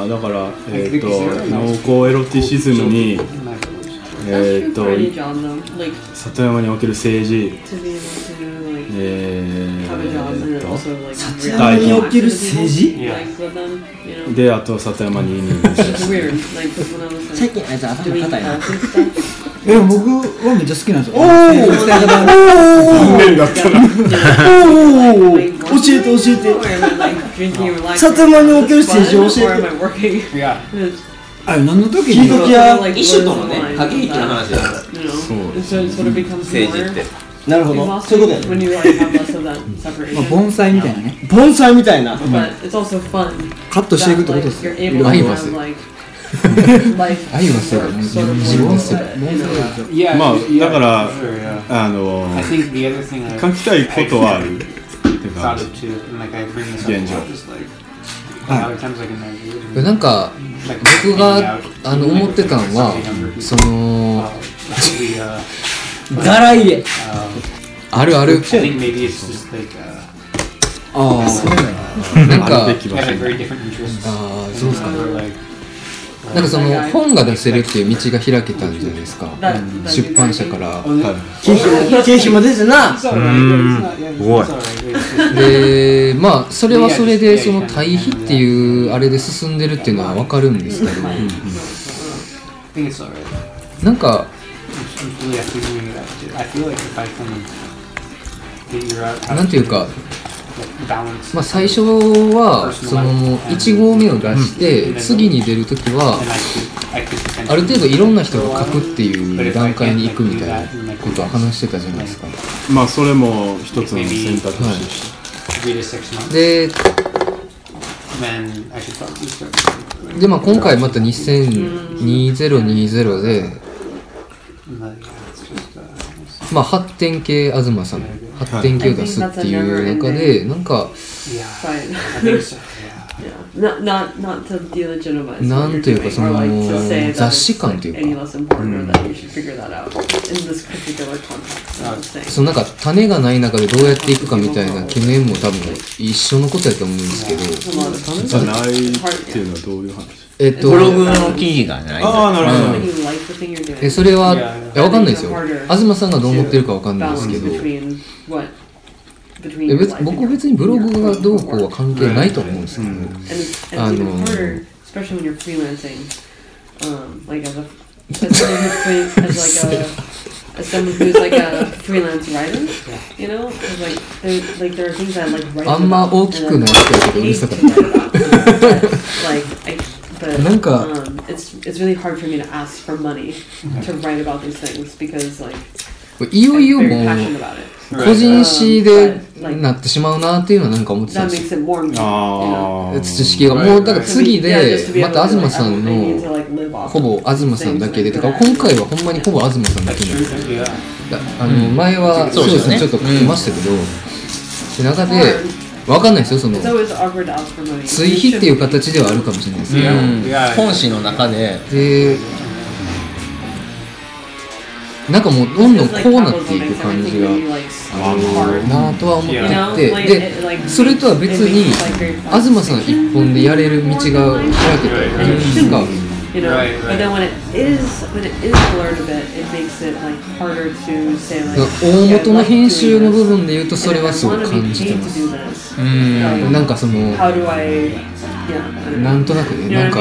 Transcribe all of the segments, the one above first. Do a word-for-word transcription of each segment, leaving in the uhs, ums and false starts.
あだからえっと濃厚エロティシズムにえっと里山における政治えーっと里山における政治であと里山に移民最近あいつ頭硬いなえ僕はめっちゃ好きなんですよ。 お残念だったなおー教えて教えて里山における政治を教えてあれ何の時に聞いときやイシュとのね駆け引きの話だから政治ってなるほどそういうことやねまあ、盆栽みたいなね盆栽みたいなカットしていくってことですよ。 アイマスアイマスが自分ですよ。 まあだからあの書きたいことはあるっていうか現状なんか僕があの思ってたのはそのガラ入れあるあるああそうなんかあるべき場所にああそうですかね。なんかその本が出せるっていう道が開けたんじゃないですか。出版社から経費も出てなすごいでまあそれはそれでその対比っていうあれで進んでるっていうのは分かるんですけど、なんかなんていうか、まあ、最初はそのいち号目を出して次に出るときはある程度いろんな人が書くっていう段階に行くみたいなことは話してたじゃないですか。 まあそれも一つの選択肢でした、 はい、でで、まあ、今回またにせんにじゅうにじゅうで、まあ、発展系東さん発展系を出すっていう中でなんかなんというかその雑誌感というか、うん、そのなんか種がない中でどうやっていくかみたいな懸念も多分一緒のことやと思うんですけど、 種がないっていうのはどういう話？ えっと、 ブログの記事がない。 ああなるほど。 えそれはいやわかんないですよ。東さんがどう思ってるかわかんないですけど。え別僕別にブログがどうこうは関係ないと思うんですけど、あのあんま大きくない人だけどうるさかったなんかいよいよもう個人誌でなってしまうなっていうのはなんか思ってたんですよ。知識がもうだから次でまた東さんのほぼ東さんだけでとか今回はほんまにほぼ東さんだけなんですよ。あの前はそうですねちょっと書きましたけど、で中でわかんないですよその追肥っていう形ではあるかもしれないですけど、 本誌の中ででなんかもうどんどんこうなっていく感じがあるなとは思っていて、でそれとは別に東さん一本でやれる道が開けたじゃないですか。大元の編集の部分で言うとそれはすごく感じてます。うんなんかそのなんとなくねなんか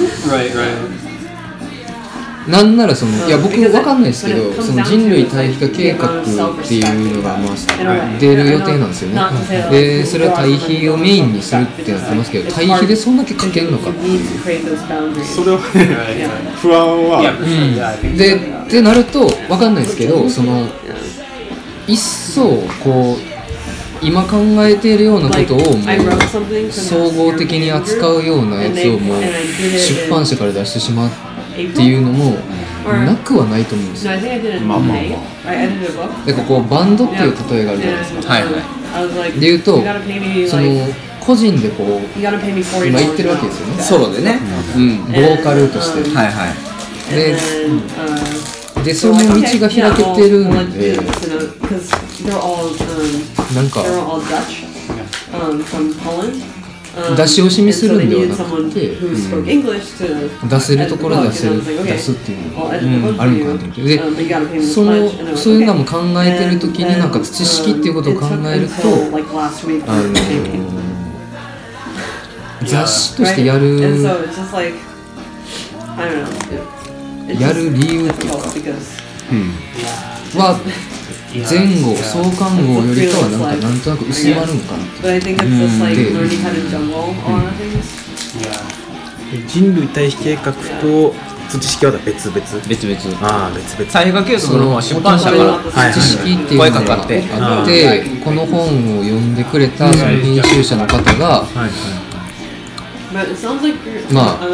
なんならそのいや僕分かんないですけどその人類対比化計画っていうのがまあ出る予定なんですよね。でそれは対比をメインにするってなってますけど対比でそんだけ書けんのかっていうそれはね不安は、 うん、でってなると分かんないですけどその一層こう今考えているようなことをもう総合的に扱うようなやつをもう出版社から出してしまうっていうのもなくはないと思うんですよ。 まあまあまあ。 なんかこうバンドっていう例えがあるじゃないですか。 はいはい。 で言うとその個人でこう今言ってるわけですよね。 ソロでね。 うん。ボーカルとして。 はいはい。 で、でその道が開けてるんで、なんか。 出し惜しみするんではなくて、うん、出せるところで出せる出すっていうのが、うん、あるのかなと思ってでそのそういうのも考えてるときになんか知識っていうことを考えるとあの雑誌としてやるやる理由っていうか、うん、は前後創刊号よりかはなんかなんとなく薄まるんかなって、 うん、人類対比計画と土式は別々 別々 ああ別々 対比計画の出版社から知識っていうのがあってこの本を読んでくれたその編集者の方がまあ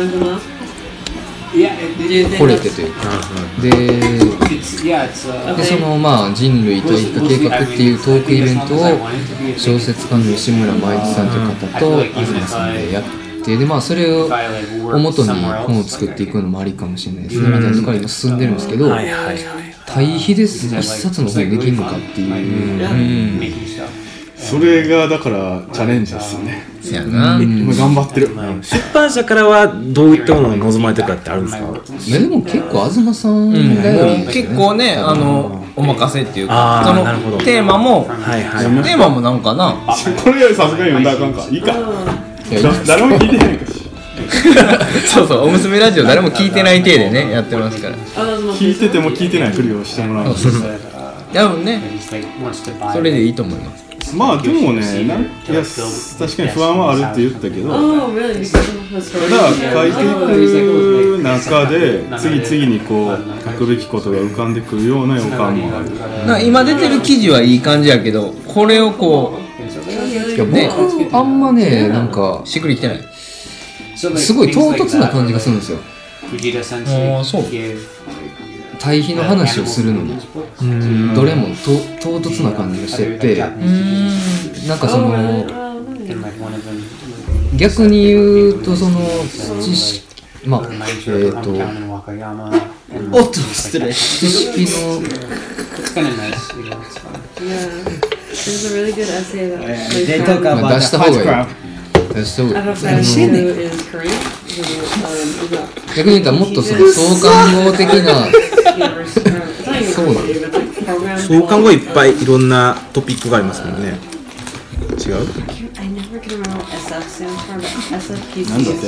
惚れてというかで, でそのまあ人類対比計画っていうトークイベントを小説家の西村舞一さんという方と東さんでやってでまあそれを元に本を作っていくのもありかもしれないですねみたいなところに今進んでるんですけど対比です一冊の本できるのかっていう、うんそれがだからチャレンジですよね。 そうやな、 うん、頑張ってる。 出版社からはどういったものを望まれてるかってあるんですか？ いやでも結構東さんだよ、ねうん、結構ねあのお任せっていうかそのテーマも、はいはい、テーマもなんかなこれよりさすがに読んだらあかんかいいか誰も聞いてないかしそうそうおむすめラジオ誰も聞いてない体でねやってますから聞いてても聞いてないふりをしてもらう多分ねそれでいいと思います。 まあでもね、なんいや確かに不安はあるって言ったけど、ただ書いていく中で次々にこう書くべきことが浮かんでくるような予感もある。 なんか今出てる記事はいい感じやけど、これをこういや僕あんまねなんかしっくりきてない。 すごい唐突な感じがするんですよ。 ああそう。 対比の話をするのにどれもと唐突な感じがしててなんかその逆に言うとその知識まあえっ、ー、とおっと失礼知識のまあ出した方がいい出した方がいい逆に言ったらもっとその創刊号的なそうなんです。 創刊号いっぱいいろんなトピックがありますもんね。違う？ なんだって？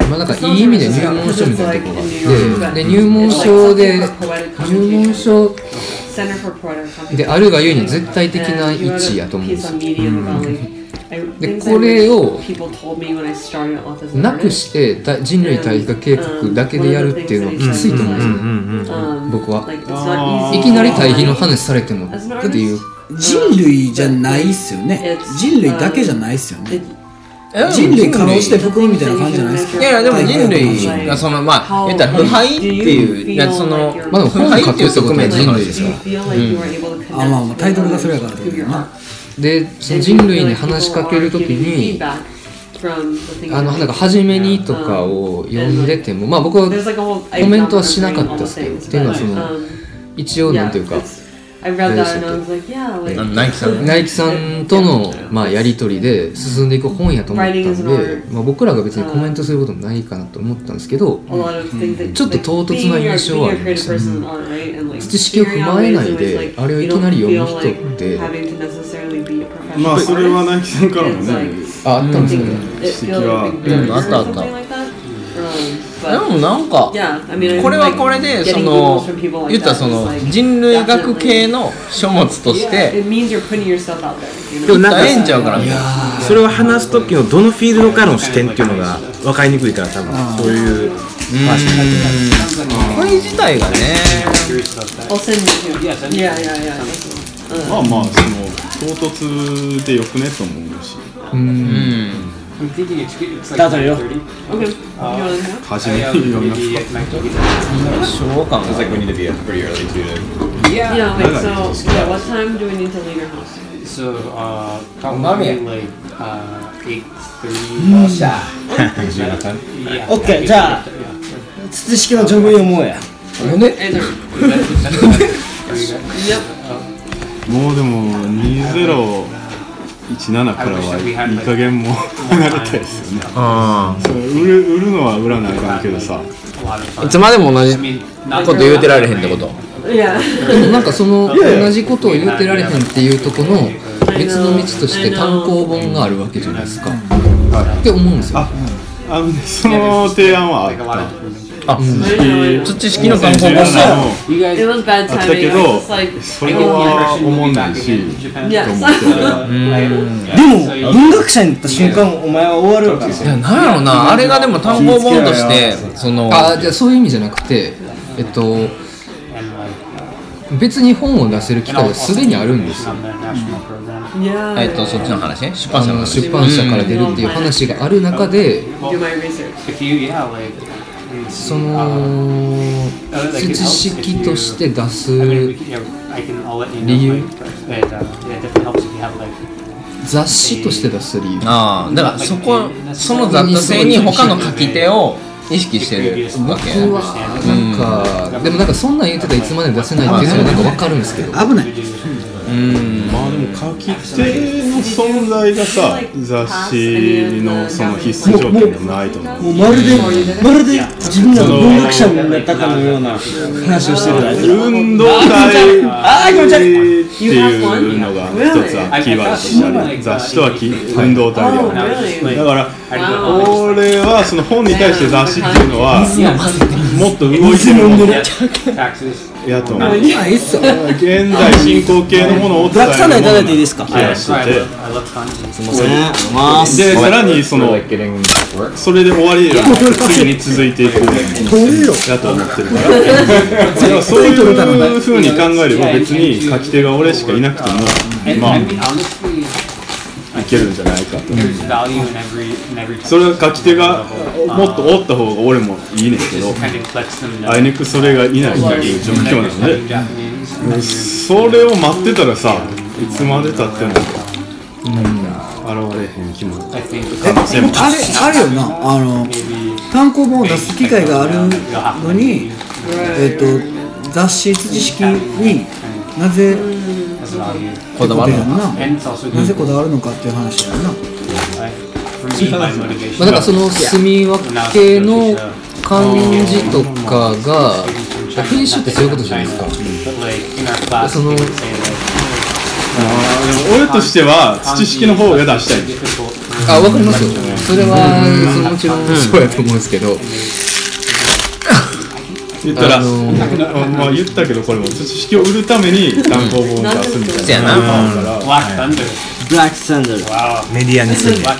まあなんかいい意味で入門書みたいなところがあって、で入門書で入門書であるがゆえに絶対的な位置やと思うんですよ。うんでこれをなくして人類対比化計画だけでやるっていうのはきついと思うんですよ、僕はいきなり対比の話されてもだっていう人類じゃないっすよね人類だけじゃないっすよね人類可能して袋みたいな感じじゃないですか。 いやいやでも人類がそのまあ言ったら腐敗っていうやつそのまあでも腐敗っていう側面人類ですから、 うん、あまあまあタイトルがそれやからってことだな。 でその人類に話しかけるときにあのなんか初めにとかを読んでてもまあ僕はコメントはしなかったですけどっていうのはその一応なんていうかナイキさんナイキさんとのまあやり取りで進んでいく本やと思ったんで、まあ、僕らが別にコメントすることもないかなと思ったんですけど、ちょっと唐突な印象はありました、ね、知識を踏まえないであれをいきなり読む人ってまあそれはナイキさんからもねああったんですけど、 指摘は、 うん、あったあったでもなんかこれはこれでその言ったらその人類学系の書物としてでもなんかええんちゃうからそれを話す時のどのフィールドからの視点っていうのが分かりにくいから多分そういう話になってるこれ自体がねまあまあその唐突でよくねと思うしうんスタートよ。 初めて読みますか。 そうかも。 Sounds like we need to be up pretty early too. Yeah. Yeah. Like so. Yeah. What time do we need to leave your house? So uh, probably like uh eight thirty. よっしゃ。オッケーじゃあ土式のジョブ読もうや。 ね。 もうでもにゼロじゅうななからはいい加減も離れたいですよね。あそう売る、売るのは売らないかんけどさ、 いつまでも同じこと言うてられへんってこと。 でもなんかその同じことを言うてられへんっていうとこの別の道として単行本があるわけじゃないですか、って思うんですよ。 あ、あのね、その提案はあった。 あ、土式の単行本があったけど、それは思んないし、 でも文学者になった瞬間お前は終わるから。いや、なんやろな、あれがでも単行本としてそのあ、じゃあそういう意味じゃなくて、えっと別に本を出せる機会がすでにあるんですよ。 えっとそっちの話ね、出版社の出版社から出るっていう話がある中で、その土式として出す理由、雑誌として出す理由、 ああ、だからそこその雑多性に他の書き手を意識してるわけ。 僕はなんか、うん、でもなんかそんなん言ってたらいつまでも出せないっていうのはなんか分かるんですけど、 危ない。 うん、まあでも書き手の存在がさ、雑誌のその必須条件でもないと思う。 もうまるでまるで自分らの文学者になったかのような話をしてる。 運動会っていうのが一つはキーワードとしてある。雑誌とは運動体ではない。だから俺はその本に対して雑誌っていうのはもっと動いてるものやと思う。現在進行形のものを伝えるものな気がしてて、でさらにそのそれで終わりや次に続いていくやと思ってるから、だからそういう風に考えれば別に書き手が俺しかいなくてもまあいけるんじゃないかと。それは書き手がもっとおった方が俺もいいねんけど、あいにくそれがいないという状況なので、それを待ってたらさ、いつまでたっても現れへん気も可能性もあれあるよな。あの単行本を出す機会があるのに、えっと雑誌土式になぜこだわるのかな、 なぜこだわるのかっていう話だよな。 まあ、だからその住み分けの感じとかが編集ってそういうことじゃないですか。そのあでも俺としては土式の方が出したい。 あ、わかりますよ。それはもちろんそうやと思うんですけど、 言ったら、あのー、まあ言ったけどこれも土式を売るために単行本を出すみたいなのがあるから。 ブラックサンダーメディアにする。 It's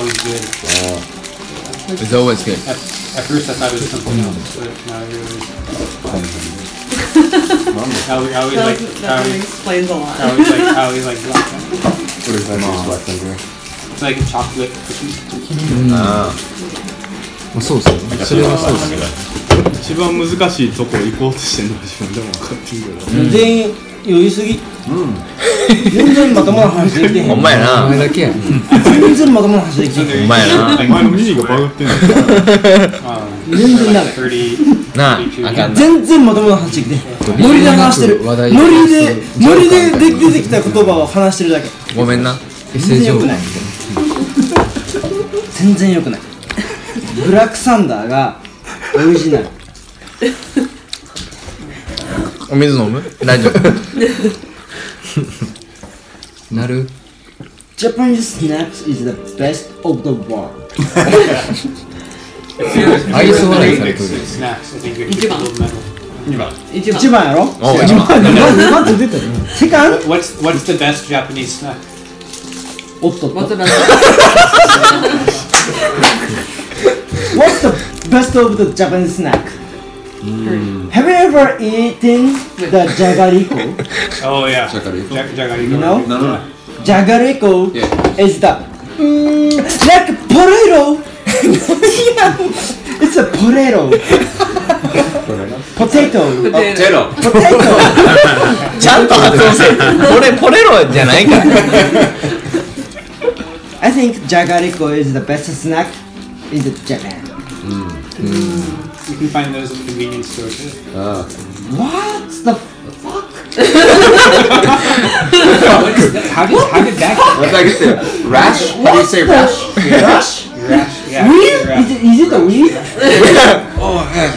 always good. At first I thought it was something else, but now I realize. How we, how we like, how we, explains a lot. How we like, how we like black thunder. What is that black thunder? It's like a chocolate cookie. ああ、そうですね。それはそうですね。 一番難しいとこ行こうとしてるのは自分でも分かってるけど、 うん、全員余裕すぎ、うん、全然まともな話できてへん。 ほんまやな。 お前だけや。 全然まともな話できてへん。 ほんまやな。 お前の耳がバグってんの。 全然ダメ。 なあ、あかんな。 全然まともな話できてへん。ノリで話してる。ノリでノリで出てきた言葉を話してるだけ。 ごめんな。 全然良くない。全然良くない。ブラックサンダーがオリジナル。 お水飲む？大丈夫。 なる。 Japanese snacks is the best of the world. 愛想笑いされてる。 一番。 二番。 一番やろ？ お、一番。 二番って出たよ。セカンド？ What's What's the best Japanese snack? おっとっと。 What's the best? What's the best of the Japanese snack? Mm. Have you ever eaten the jagariko? Oh yeah. Jagariko. Jagariko. You know? No, no. Jagariko yeah. is the mm, like potato. It's a potato. Potato. Potato. Potato. ちゃんと発音せ。これポレロじゃないか。 I think jagariko is the best snack in the Japan. Mm. Mm. You can find those in convenience stores. Uh. What the fuck? How did how did that? What did I get there? Rash? How do you say rash? Rash? Rash. Yeah. Weed? Is it, is it a weed? Oh, yeah.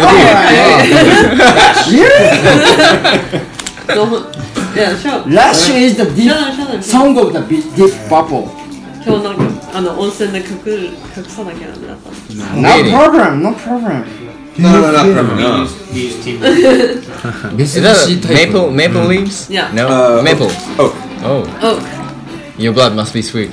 Yeah, sure. Rash is the deep Shut up, shut up. song of the deep purple. 今日なんかあの温泉で隠る隠さなきゃダメだったの。 No problem, no problem. No, no, no, no, no. We use team. Is that maple maple leaves? Yeah. No, Uh, maple. Oh. Oh, Oh, your blood must be sweet.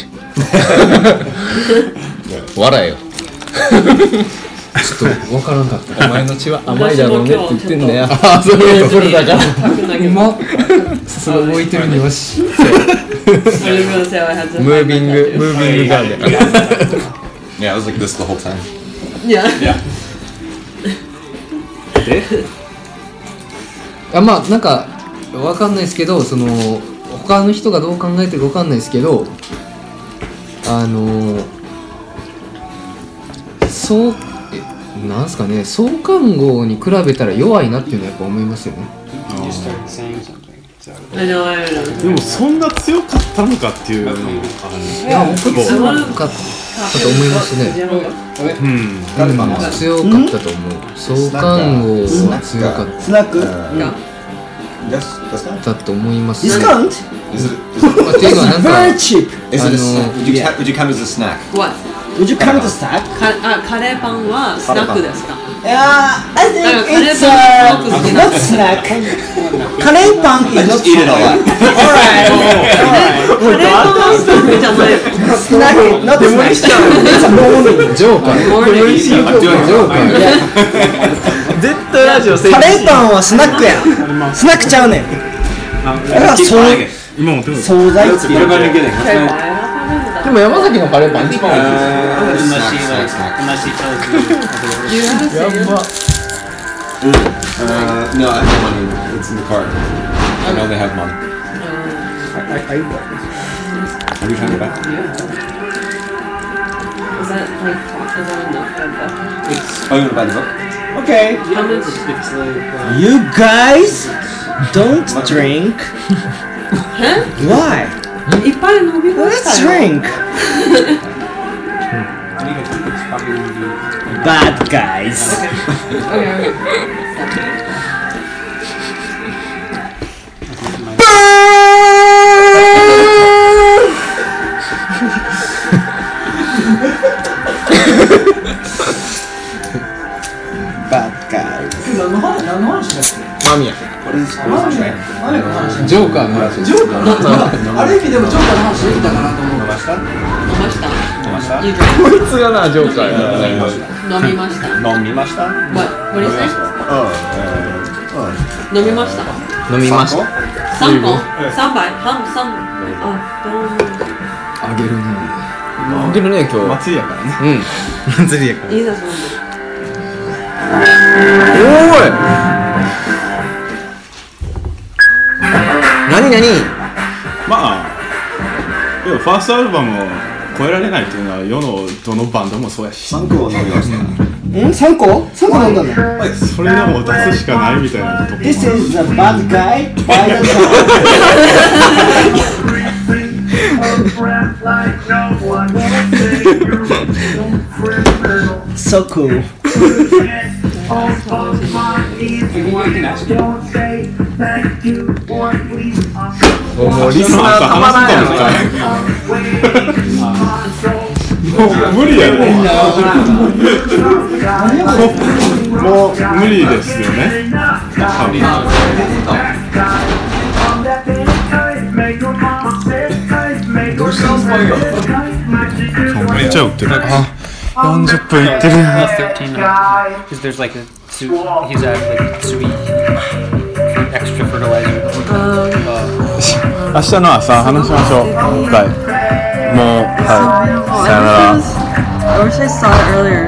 笑えよ。 ちょっとわからんかった。 お前の血は甘いだろうねって言ってんだよ。 あ、そういうことだから。 書くんだけど。 今さすが動いてるにはし。 I was gonna say I had to. Moving, moving garden. Yeah, I was like this the whole time. Yeah. Yeah. あ、まあなんかわかんないですけど、その他の人がどう考えてるかわかんないですけど、あのそうえなんすかね、創刊号に比べたら弱いなっていうのはやっぱ思いますよね。 You started saying something. I know, I know. でもそんな強かったのかっていうのもある。 いや、僕強かったと思いますね。 うん。 うん、強かったと思う。創刊号は強かっスナック Yes, that's not. たと思いますね。 Discount? Is it? まあっていうのはなんか Very cheap. Is it a I snack? know. Would you, ca- would you count as a snack? What? Would you count the snack? かあカレーパンはスナックですか？ Yeah, I think Uh, it's karepan uh, is not snack. Karepan I is not just eat it a lot. Alright. カレーパンはスナックじゃないよ。 Snack, not snack. It's a morning. ジョーカー。 Morning. I'm doing ジョーカー。 絶対ラジオ成カレーパンはスナックや。スナックちゃうねん。あれは Keep そう buying it. 今も手も惣菜 Let's eat about beginning. でも山崎のカレーパン一番美味しい。 Unless she snack, like, snack. unless she tells you. Do you have a cigarette? Uh, no, I have no money. It's in the card. I know they have money. Are you trying to buy? Is that like is that enough for the? Oh, you want to buy the book? Okay. How much? It's like, uh, You guys don't drink. Huh? Why? いっぱい飲みまし Let's たよ。 drink. I think it's probably gonna be. Bad guys. Okay, okay. Bad guys. 間宮。 What is, what is the train? ジョーカーの話。ジョーカー。ある意味でもジョーカーの話できたかなと思う。 飲みました。 飲みました You こいつがなジョーカーやな。 drink. 飲みました。 飲みました What? What do you say? Oh, uh, 飲みました。 飲みました。 三個？三杯？半三？あ、どうも。 あげるね。 あげるね今日。 祭りやからね。 うん。祭りやから。 いいですもんね。 おーい。何何？ まあでもファーストアルバムを超えられないっていうのは世のどのバンドもそうやし、 三個飲みました。 ん ?さんこ ?さんこ飲んだのそれでも出すしかないみたいなところ。 This is the bad guy by the song. So cool. もうリスナーたまらんやんか。 もう無理やね。もう無理ですよね。めっちゃ売ってる。あ、よんじゅっぷんいってる。 thirteen because there's like a su- he's at like sweet extra fertilizer. 明日の朝話しましょう。もう一回。もうはい。さよなら。 I wish I saw it earlier.